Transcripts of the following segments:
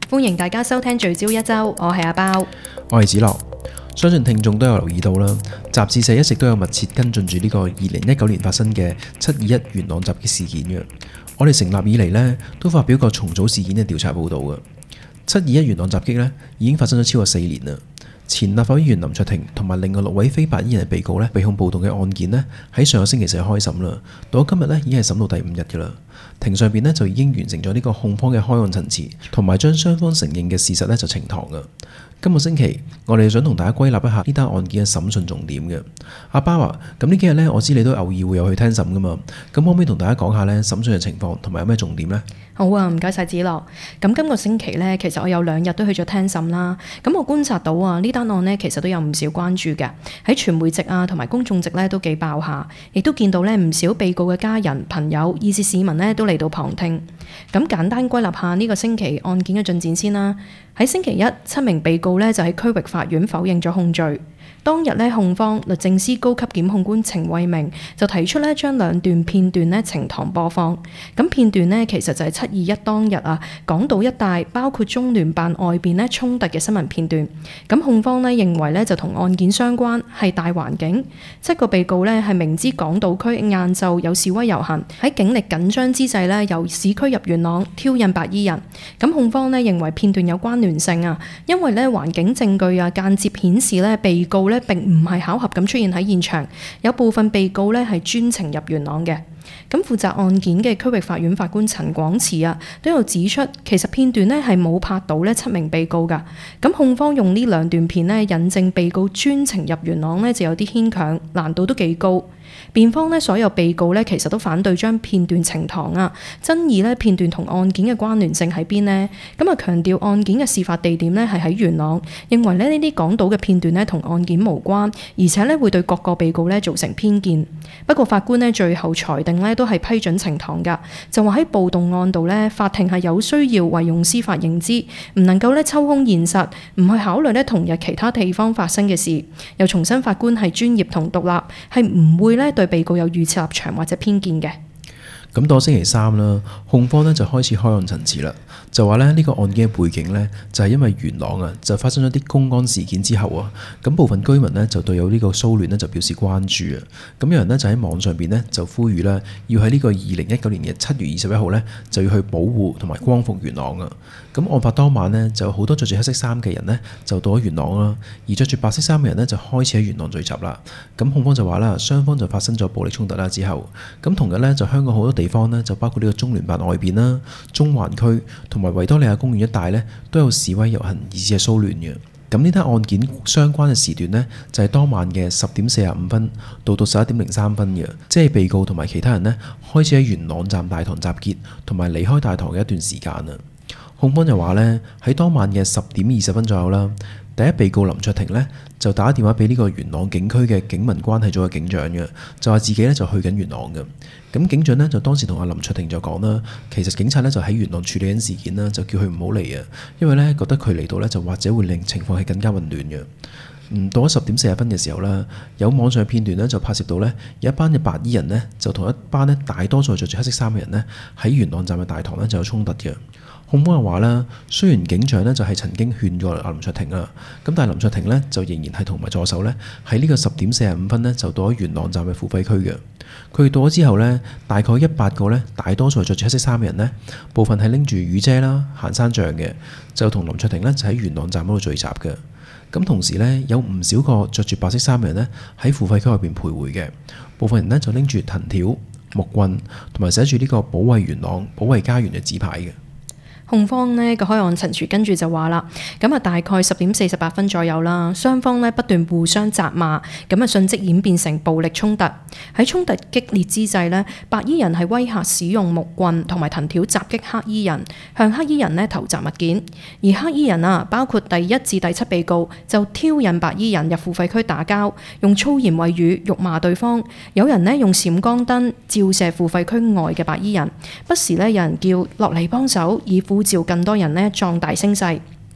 歡迎大家收聽聚焦一周，我係阿包， 我係子樂。相信聽眾都有留意到啦，雜誌社一直都有密切跟進住呢個2019年發生嘅721元朗襲擊事件嘅。我哋成立以嚟呢，都發表過重組事件嘅調查報導嘅。721元朗襲擊呢，已經發生咗超過4年啦。前立法會議員林卓廷同埋另外6位非白衣人嘅被告呢，被控暴動嘅案件呢，喺上個星期4開審啦，到咗今日呢，已經係審到第5日嘅啦。庭上邊呢，就已經完成咗呢個控方嘅開案陳詞，同埋將雙方承認嘅事實呢，就呈堂嘅。今個星期我哋想同大家歸納一下呢單案件嘅審訊重點嘅。阿包啊，咁呢幾日呢，我知你都偶爾會有去聽審噶嘛，咁可唔可以同大家講下呢審訊嘅情況同埋有咩重點呢？ 好啊，唔該晒子樂。咁今個星期呢，其實我有2日都去咗聽審啦。咁我觀察到啊，呢單案呢，其實都有唔少關注嘅，喺傳媒席啊同埋公眾席呢，都幾爆下，亦都見到呢唔少被告嘅家人朋友以至市民呢，都嚟到旁聽。咁簡單歸納下呢個星期案件嘅進展先啦。喺星期一，7名被告呢，就喺區域法院否認咗控罪。當日呢，控方律政司高級檢控官程慧明就提出呢，將2段片段呢呈堂播放。咁片段呢，其實就係721當日啊，港島一帶包括中聯辦外邊呢衝突嘅新聞片段。咁控方呢認為呢，就同案件相關，係大環境。7個被告呢係明知港島區晏晝有示威遊行，喺警力緊張之際呢，由市區入元朗挑釁白衣人。咁控方呢認為片段有關聯性啊，因為呢環境證據啊間接顯示呢被告呢並唔係巧合咁出現喺現場，有部分被告呢係專程入元朗嘅。咁負責案件嘅區域法院法官陳廣慈啊，都有指出，其實片段呢係冇拍到呢7名被告噶。咁控方用呢2段片呢引證被告專程入元朗呢，就有啲牽強，難度都幾高。辯方呢所有被告呢其實都反對將片段呈堂啊，爭議呢片段同案件嘅關聯性喺邊呢？咁啊強調案件嘅事發地點呢係喺元朗，認為呢啲港島嘅片段呢同案件無關，而且呢會對各個被告呢造成偏見。不過法官呢最後裁定呢都係批准呈堂噶，就話喺暴動案度呢，法庭係有需要運用司法認知，唔能夠呢抽空現實，唔去考慮呢同日其他地方發生嘅事。又重申法官係專業同獨立，係唔會呢對被告有預設立場或者偏見嘅。 咁到星期3啦，控方呢就開始開案陳詞啦，就話呢個案件嘅背景呢，就係因為元朗啊就發生咗啲公安事件之後啊，咁部分居民呢就對有呢個騷亂呢就表示關注啊，咁有人呢就喺網上邊呢就呼籲啦，要喺呢個2019年嘅7月21號呢就要去保護同埋光復元朗啊。咁案發當晚呢，就好多着住黑色衫嘅人呢就到咗元朗啦，而着住白色衫嘅人呢就開始喺元朗聚集啦。咁控方就話啦，雙方就發生咗暴力衝突啦之後，咁同日呢，就香港好多地方呢，就包括呢個中聯辦外邊啦、中環區同埋維多利亞公園一帶呢，都有示威遊行以至係騷亂嘅。咁呢單案件相關嘅時段呢，就係當晚嘅10點45分到11點03分嘅，即係被告同埋其他人呢，開始喺元朗站大堂集結同埋離開大堂嘅一段時間啊。控方就話呢，喺當晚嘅10點20分左右啦，第一被告林卓廷呢，就打電話俾呢個元朗警區嘅警民關係組嘅警長嘅，就話自己呢就去緊元朗嘅。咁警長呢，就當時同阿林卓廷就講啦，其實警察呢就喺元朗處理緊事件啦，就叫佢唔好嚟啊，因為呢覺得佢嚟到呢就或者會令情況係更加混亂嘅。到咗10點40分嘅時候啦，有網上片段呢就拍攝到呢，有一班嘅白衣人呢，就同一班呢大多數着住黑色衫嘅人呢，喺元朗站嘅大堂呢就有衝突嘅。控方又話啦，雖然警長呢就係曾經勸過阿林卓廷啊，咁但係林卓廷呢就仍然係同埋助手呢，喺呢個10點45分呢就到咗元朗站嘅付費區嘅。佢哋到咗之後呢，大概100個呢，大多數係着住黑色衫嘅人呢，部分係拎住雨遮啦、行山杖嘅，就同林卓廷呢就喺元朗站嗰度聚集嘅。咁同時呢，有唔少個着住白色衫嘅人呢，喺付費區入邊徘徊嘅，部分人呢就拎住藤條、木棍同埋寫住呢個保衛元朗、保衛家園嘅紙牌嘅。 控方呢個開案陳詞跟住就話啦，咁啊大概10點48分左右啦，雙方呢不斷互相責罵，咁啊迅即演變成暴力衝突。喺衝突激烈之際呢，白衣人係威嚇使用木棍同埋藤條襲擊黑衣人，向黑衣人呢投擲物件。而黑衣人啊，包括第1至第7被告就挑釁白衣人入付費區打交，用粗言穢語辱罵對方。有人呢用閃光燈照射付費區外嘅白衣人，不時呢有人叫落嚟幫手，以呼召更多人呢壯大聲勢。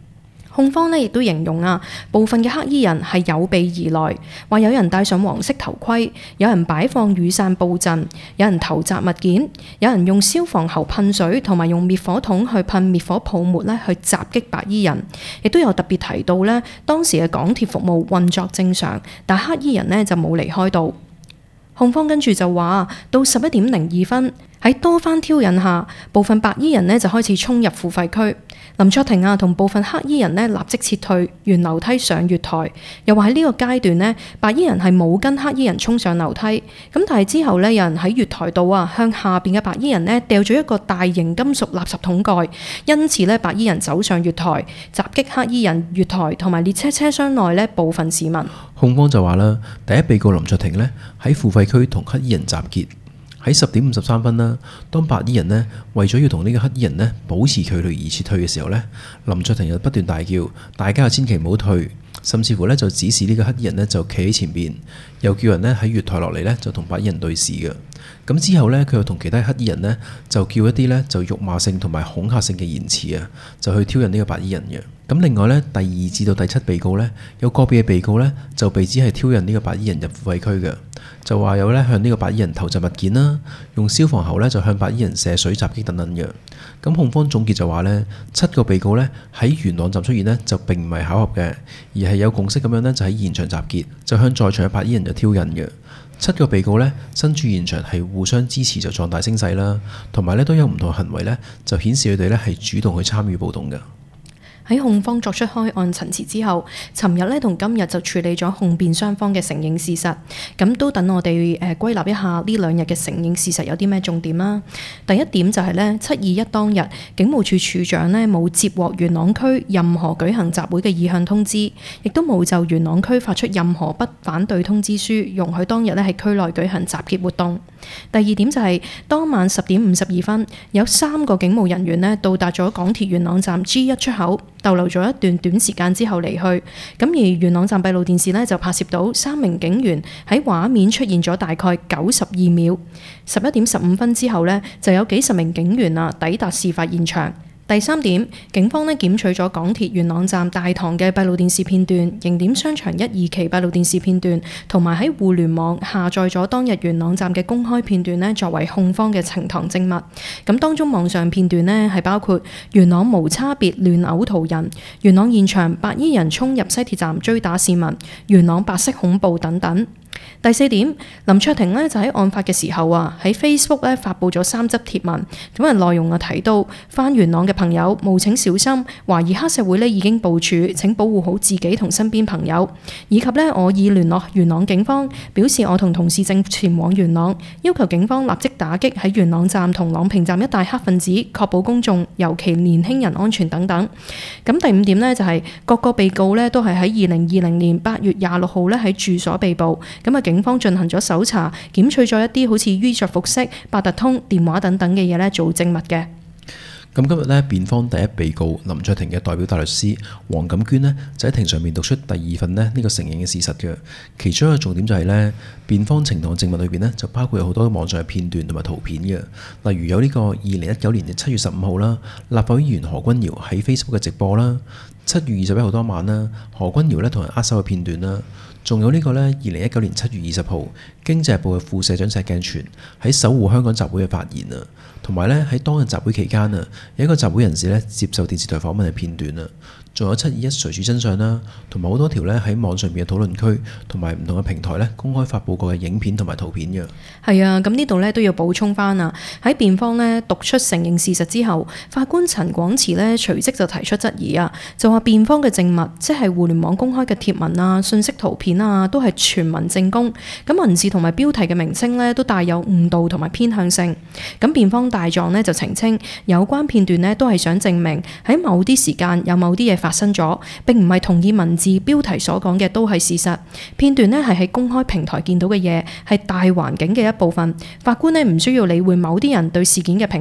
控方亦都形容部分嘅黑衣人係有備而來，話有人戴上黃色頭盔，有人擺放雨傘佈陣，有人投擲物件，有人用消防喉噴水同埋用滅火筒去噴滅火泡沫去襲擊白衣人，亦都有特別提到當時嘅港鐵服務運作正常，但黑衣人就冇離開到。控方跟住就話，到11:02，喺多番挑釁下，部分白衣人就開始衝入付費區。林卓廷同部分黑衣人立即撤退，沿樓梯上月台。又話喺呢個階段白衣人係冇跟黑衣人衝上樓梯。咁但係之後有人喺月台度向下邊嘅白衣人掉咗一個大型金屬垃圾桶蓋，因此白衣人走上月台，襲擊黑衣人、月台同埋列車車廂內部分市民。 控方就話啦，第一被告林卓廷喺付費區同黑衣人集結。喺10:53啦，當白衣人為咗要同呢個黑衣人保持距離而撤退嘅時候林卓廷又不斷大叫，大家千祈唔好退，甚至乎就指示呢個黑衣人就企喺前邊，又叫人喺月台落嚟就同白衣人對視嘅。咁之後佢又同其他黑衣人就叫一啲就辱罵性同埋恐嚇性嘅言辭就去挑釁呢個白衣人嘅。咁另外第2至到第7被告有個別嘅被告就被指係挑釁呢個白衣人入付費區嘅，就話有向呢個白衣人投擲物件啦，用消防喉就向白衣人射水襲擊等等嘅。咁控方總結就話7個被告喺元朗站出現就並唔係巧合嘅，而係有共識咁樣就喺現場集結，就向在場嘅白衣人就挑釁嘅。7個被告身處現場係互相支持就壯大聲勢啦，同埋都有唔同行為就顯示佢哋係主動去參與暴動嘅。 喺控方作出開案陳詞之後，尋日同今日就處理咗控辯雙方嘅承認事實，咁都等我哋歸納一下呢2日嘅承認事實有啲咩重點啦。第一點就係721當日，警務處處長冇接獲元朗區任何舉行集會嘅意向通知，亦都冇就元朗區發出任何不反對通知書，容許當日喺區內舉行集結活動。第二點就係當晚10:52，有3個警務人員到達咗港鐵元朗站 G1 出口，逗留咗一段短時間之後離去。咁而元朗站閉路電視就拍攝到3名警員喺畫面出現咗大概92秒。11:15之後就有幾十名警員抵達事發現場。第3點，警方檢取咗港鐵元朗站大堂嘅閉路電視片段、刑點商場1、2期閉路電視片段，同埋喺互聯網下載咗當日元朗站嘅公開片段作為控方嘅呈堂證物。咁當中網上片段係包括元朗無差別亂毆途人、元朗現場白衣人衝入西鐵站追打市民、元朗白色恐怖等等。第4點，林卓廷就喺案發嘅時候喺 Facebook 發布咗3則貼文，咁內容提到返元朗嘅朋友務請小心，懷疑黑社會已經部署，請保護好自己同身邊朋友，以及我已聯絡元朗警方，表示我同同事正前往元朗，要求警方立即打擊喺元朗站同朗屏站一帶黑分子，確保公眾尤其年輕人安全等等。咁第5點就係各個被告都係喺2020年8月26號喺住所被捕。咁警方進行咗搜查，檢取咗一啲好似衣着服飾、八達通、電話等等嘅嘢做證物嘅。 咁今日辯方第一被告林卓廷嘅代表大律師黃錦娟就喺庭上面讀出第2份呢個承認嘅事實嘅。其中一個重點就係辯方呈堂證物裏邊就包括有好多網上嘅片段同埋圖片嘅，例如有呢個2019年嘅7月15號啦，立法會議員何君堯喺 Facebook 嘅直播啦，7月21號當晚啦，何君堯同人握手嘅片段啦。仲有呢個2019年7月20號，經濟日報嘅副社長石鏡泉喺守護香港集會嘅發言啊，同埋喺當日集會期間有一個集會人士接受電視台訪問嘅片段啊。仲有721誰主真相啦，同埋好多條喺網上面嘅討論區同埋唔同嘅平台公開發佈過嘅影片同埋圖片嘅。係啊，咁呢度都要補充翻啊。喺辯方讀出承認事實之後，法官陳廣慈隨即就提出質疑啊，就話辯方嘅證物，即係互聯網公開嘅貼文啊、信息圖片啊，都係全文正供。咁文字同埋標題嘅名稱都帶有誤導同埋偏向性。咁辯方大狀就澄清，有關片段都係想證明喺某啲時間有某啲嘢發生咗，並唔係同意文字標題所講嘅都係事實。片段係喺公開平台見到嘅嘢，係大環境嘅一部分。法官唔需要理會某啲人對事件嘅評論。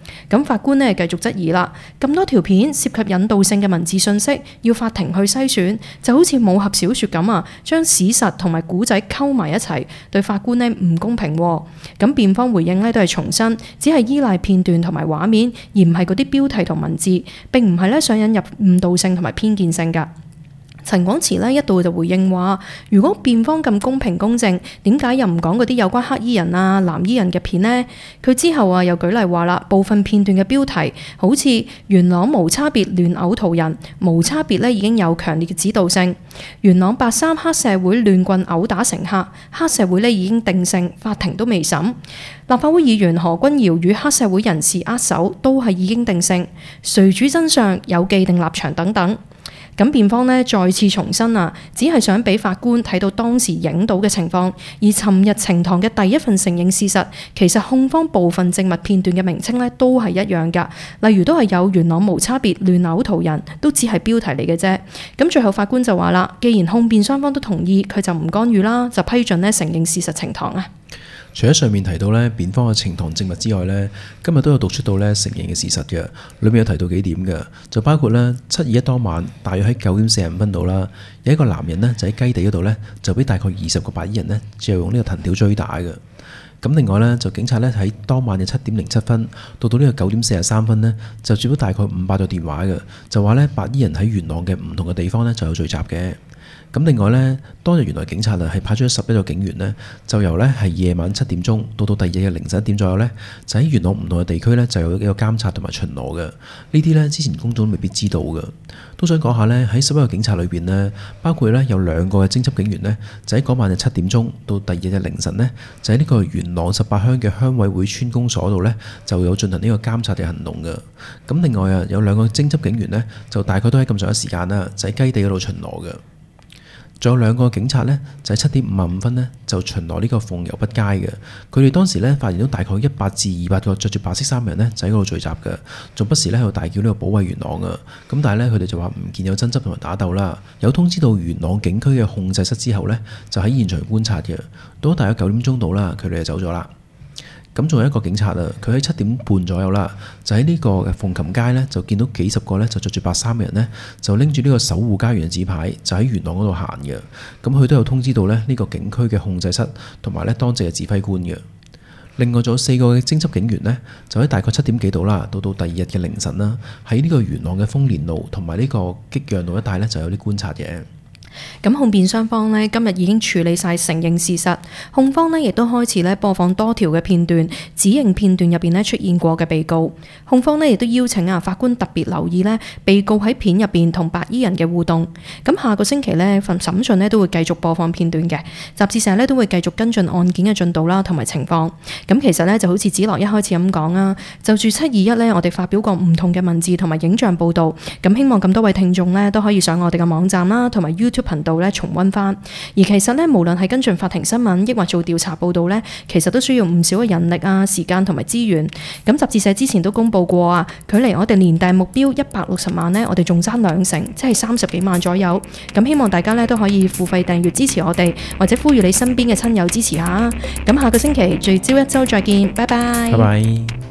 咁法官呢繼續質疑啦，咁多條片涉及引導性嘅文字信息，要法庭去篩選，就好似武俠小說咁啊，將史實同埋古仔溝埋一齊，對法官呢唔公平。咁辯方回應呢都係重申，只係依賴片段同埋畫面，而唔係嗰啲標題同文字，並唔係呢想引入誤導性同埋偏見性㗎。陳廣池呢一度就回應話，如果辯方咁公平公正，點解又唔講嗰啲有關黑衣人啊、藍衣人嘅片呢？佢之後又舉例話啦，部分片段嘅標題好似元朗無差別亂毆途人，無差別已經有強烈嘅指導性；元朗8·3黑社會亂棍毆打乘客，黑社會已經定性，法庭都未審；立法會議員何君堯與黑社會人士握手，都係已經定性，誰主真相有既定立場等等。咁辯方呢再次重申啊，只係想俾法官睇到當時影到嘅情況，而尋日呈堂嘅第一份承認事實，其實控方部分證物片段嘅名稱呢都係一樣㗎，例如都係有元朗無差別亂毆途人，都只係標題嚟嘅啫。咁最後法官就話啦，既然控辯雙方都同意，佢就唔干預啦，就批准呢承認事實呈堂啊。 除咗上面提到咧辯方嘅呈堂證物之外咧，今日都有讀出到咧承認嘅事實嘅，裏面有提到幾點嘅，就包括咧7/21當晚大約喺9:45度啦，有一個男人呢就喺雞地嗰度咧就俾大概20個白衣人呢就用呢個藤條追打嘅。咁另外咧就警察咧喺當晚嘅7:07到呢個9:43呢，就接到大概500個電話嘅，就話咧白衣人喺元朗嘅唔同嘅地方咧就有聚集嘅。咁另外呢，當日原來警察係派出咗11個警員呢，就由呢係夜晚7點到第二日嘅凌晨1點左右呢，就喺元朗唔同嘅地區呢，就有一個監察同埋巡邏嘅。呢啲呢，之前公眾未必知道嘅。都想講下呢，喺11個警察裏邊呢，包括呢有2個嘅偵緝警員呢，就喺嗰晚嘅7點到第二日嘅凌晨呢，就喺呢個元朗18鄉嘅鄉委會村公所度呢，就有進行呢個監察嘅行動嘅。咁另外有2個偵緝警員呢，就大概都喺咁上下時間啦，就喺雞地嗰度巡邏嘅。仲有2個警察呢，就喺7:55呢，就巡邏呢個鳳攸北街嘅。佢哋當時呢，發現到大概100至200個着住白色衫嘅人呢，就喺嗰度聚集嘅，仲不時呢喺度大叫呢個保衛元朗啊。咁但係呢，佢哋就話唔見有爭執同埋打鬥啦。有通知到元朗警區嘅控制室之後呢，就喺現場觀察嘅。到咗大約9點鐘到啦，佢哋就走咗啦。咁仲有一個警察啊，佢喺7點半左右啦，就喺呢個鳳琴街呢，就見到幾十個呢，就着住白衫嘅人呢，就拎住呢個守護家園嘅紙牌，就喺元朗嗰度行嘅。咁佢都有通知到呢個警區嘅控制室同埋呢當值嘅指揮官嘅。另外仲有4個嘅偵緝警員呢，就喺大概7點幾度啦，到第二日嘅凌晨啦，喺呢個元朗嘅豐年路同埋呢個激陽路一帶呢，就有啲觀察嘅。 咁控辯雙方呢，今日已經處理晒承認事實，控方呢亦都開始呢播放多條嘅片段，指認片段入邊呢出現過嘅被告。控方呢亦都邀請法官特別留意呢被告喺片入邊同白衣人嘅互動。咁下個星期呢份審訊呢都會繼續播放片段嘅，集誌社呢都會繼續跟進案件嘅進度啦同埋情況。咁其實呢就好似子樂一開始咁講啊，就住7/21呢，我哋發表過唔同嘅文字同埋影像報導。咁希望咁多位聽眾呢都可以上我哋嘅網站啦，同埋 YouTube頻道咧重溫翻，而其實咧無論係跟進法庭新聞，抑或做調查報導咧，其實都需要唔少嘅人力啊、時間同埋資源。咁集誌社之前都公佈過啊，距離我哋年訂目標160萬呢，我哋仲爭2成，即係30幾萬左右。咁希望大家咧都可以付費訂閱支持我哋，或者呼籲你身邊嘅親友支持下。咁下個星期聚焦一周再見，拜拜。 拜拜。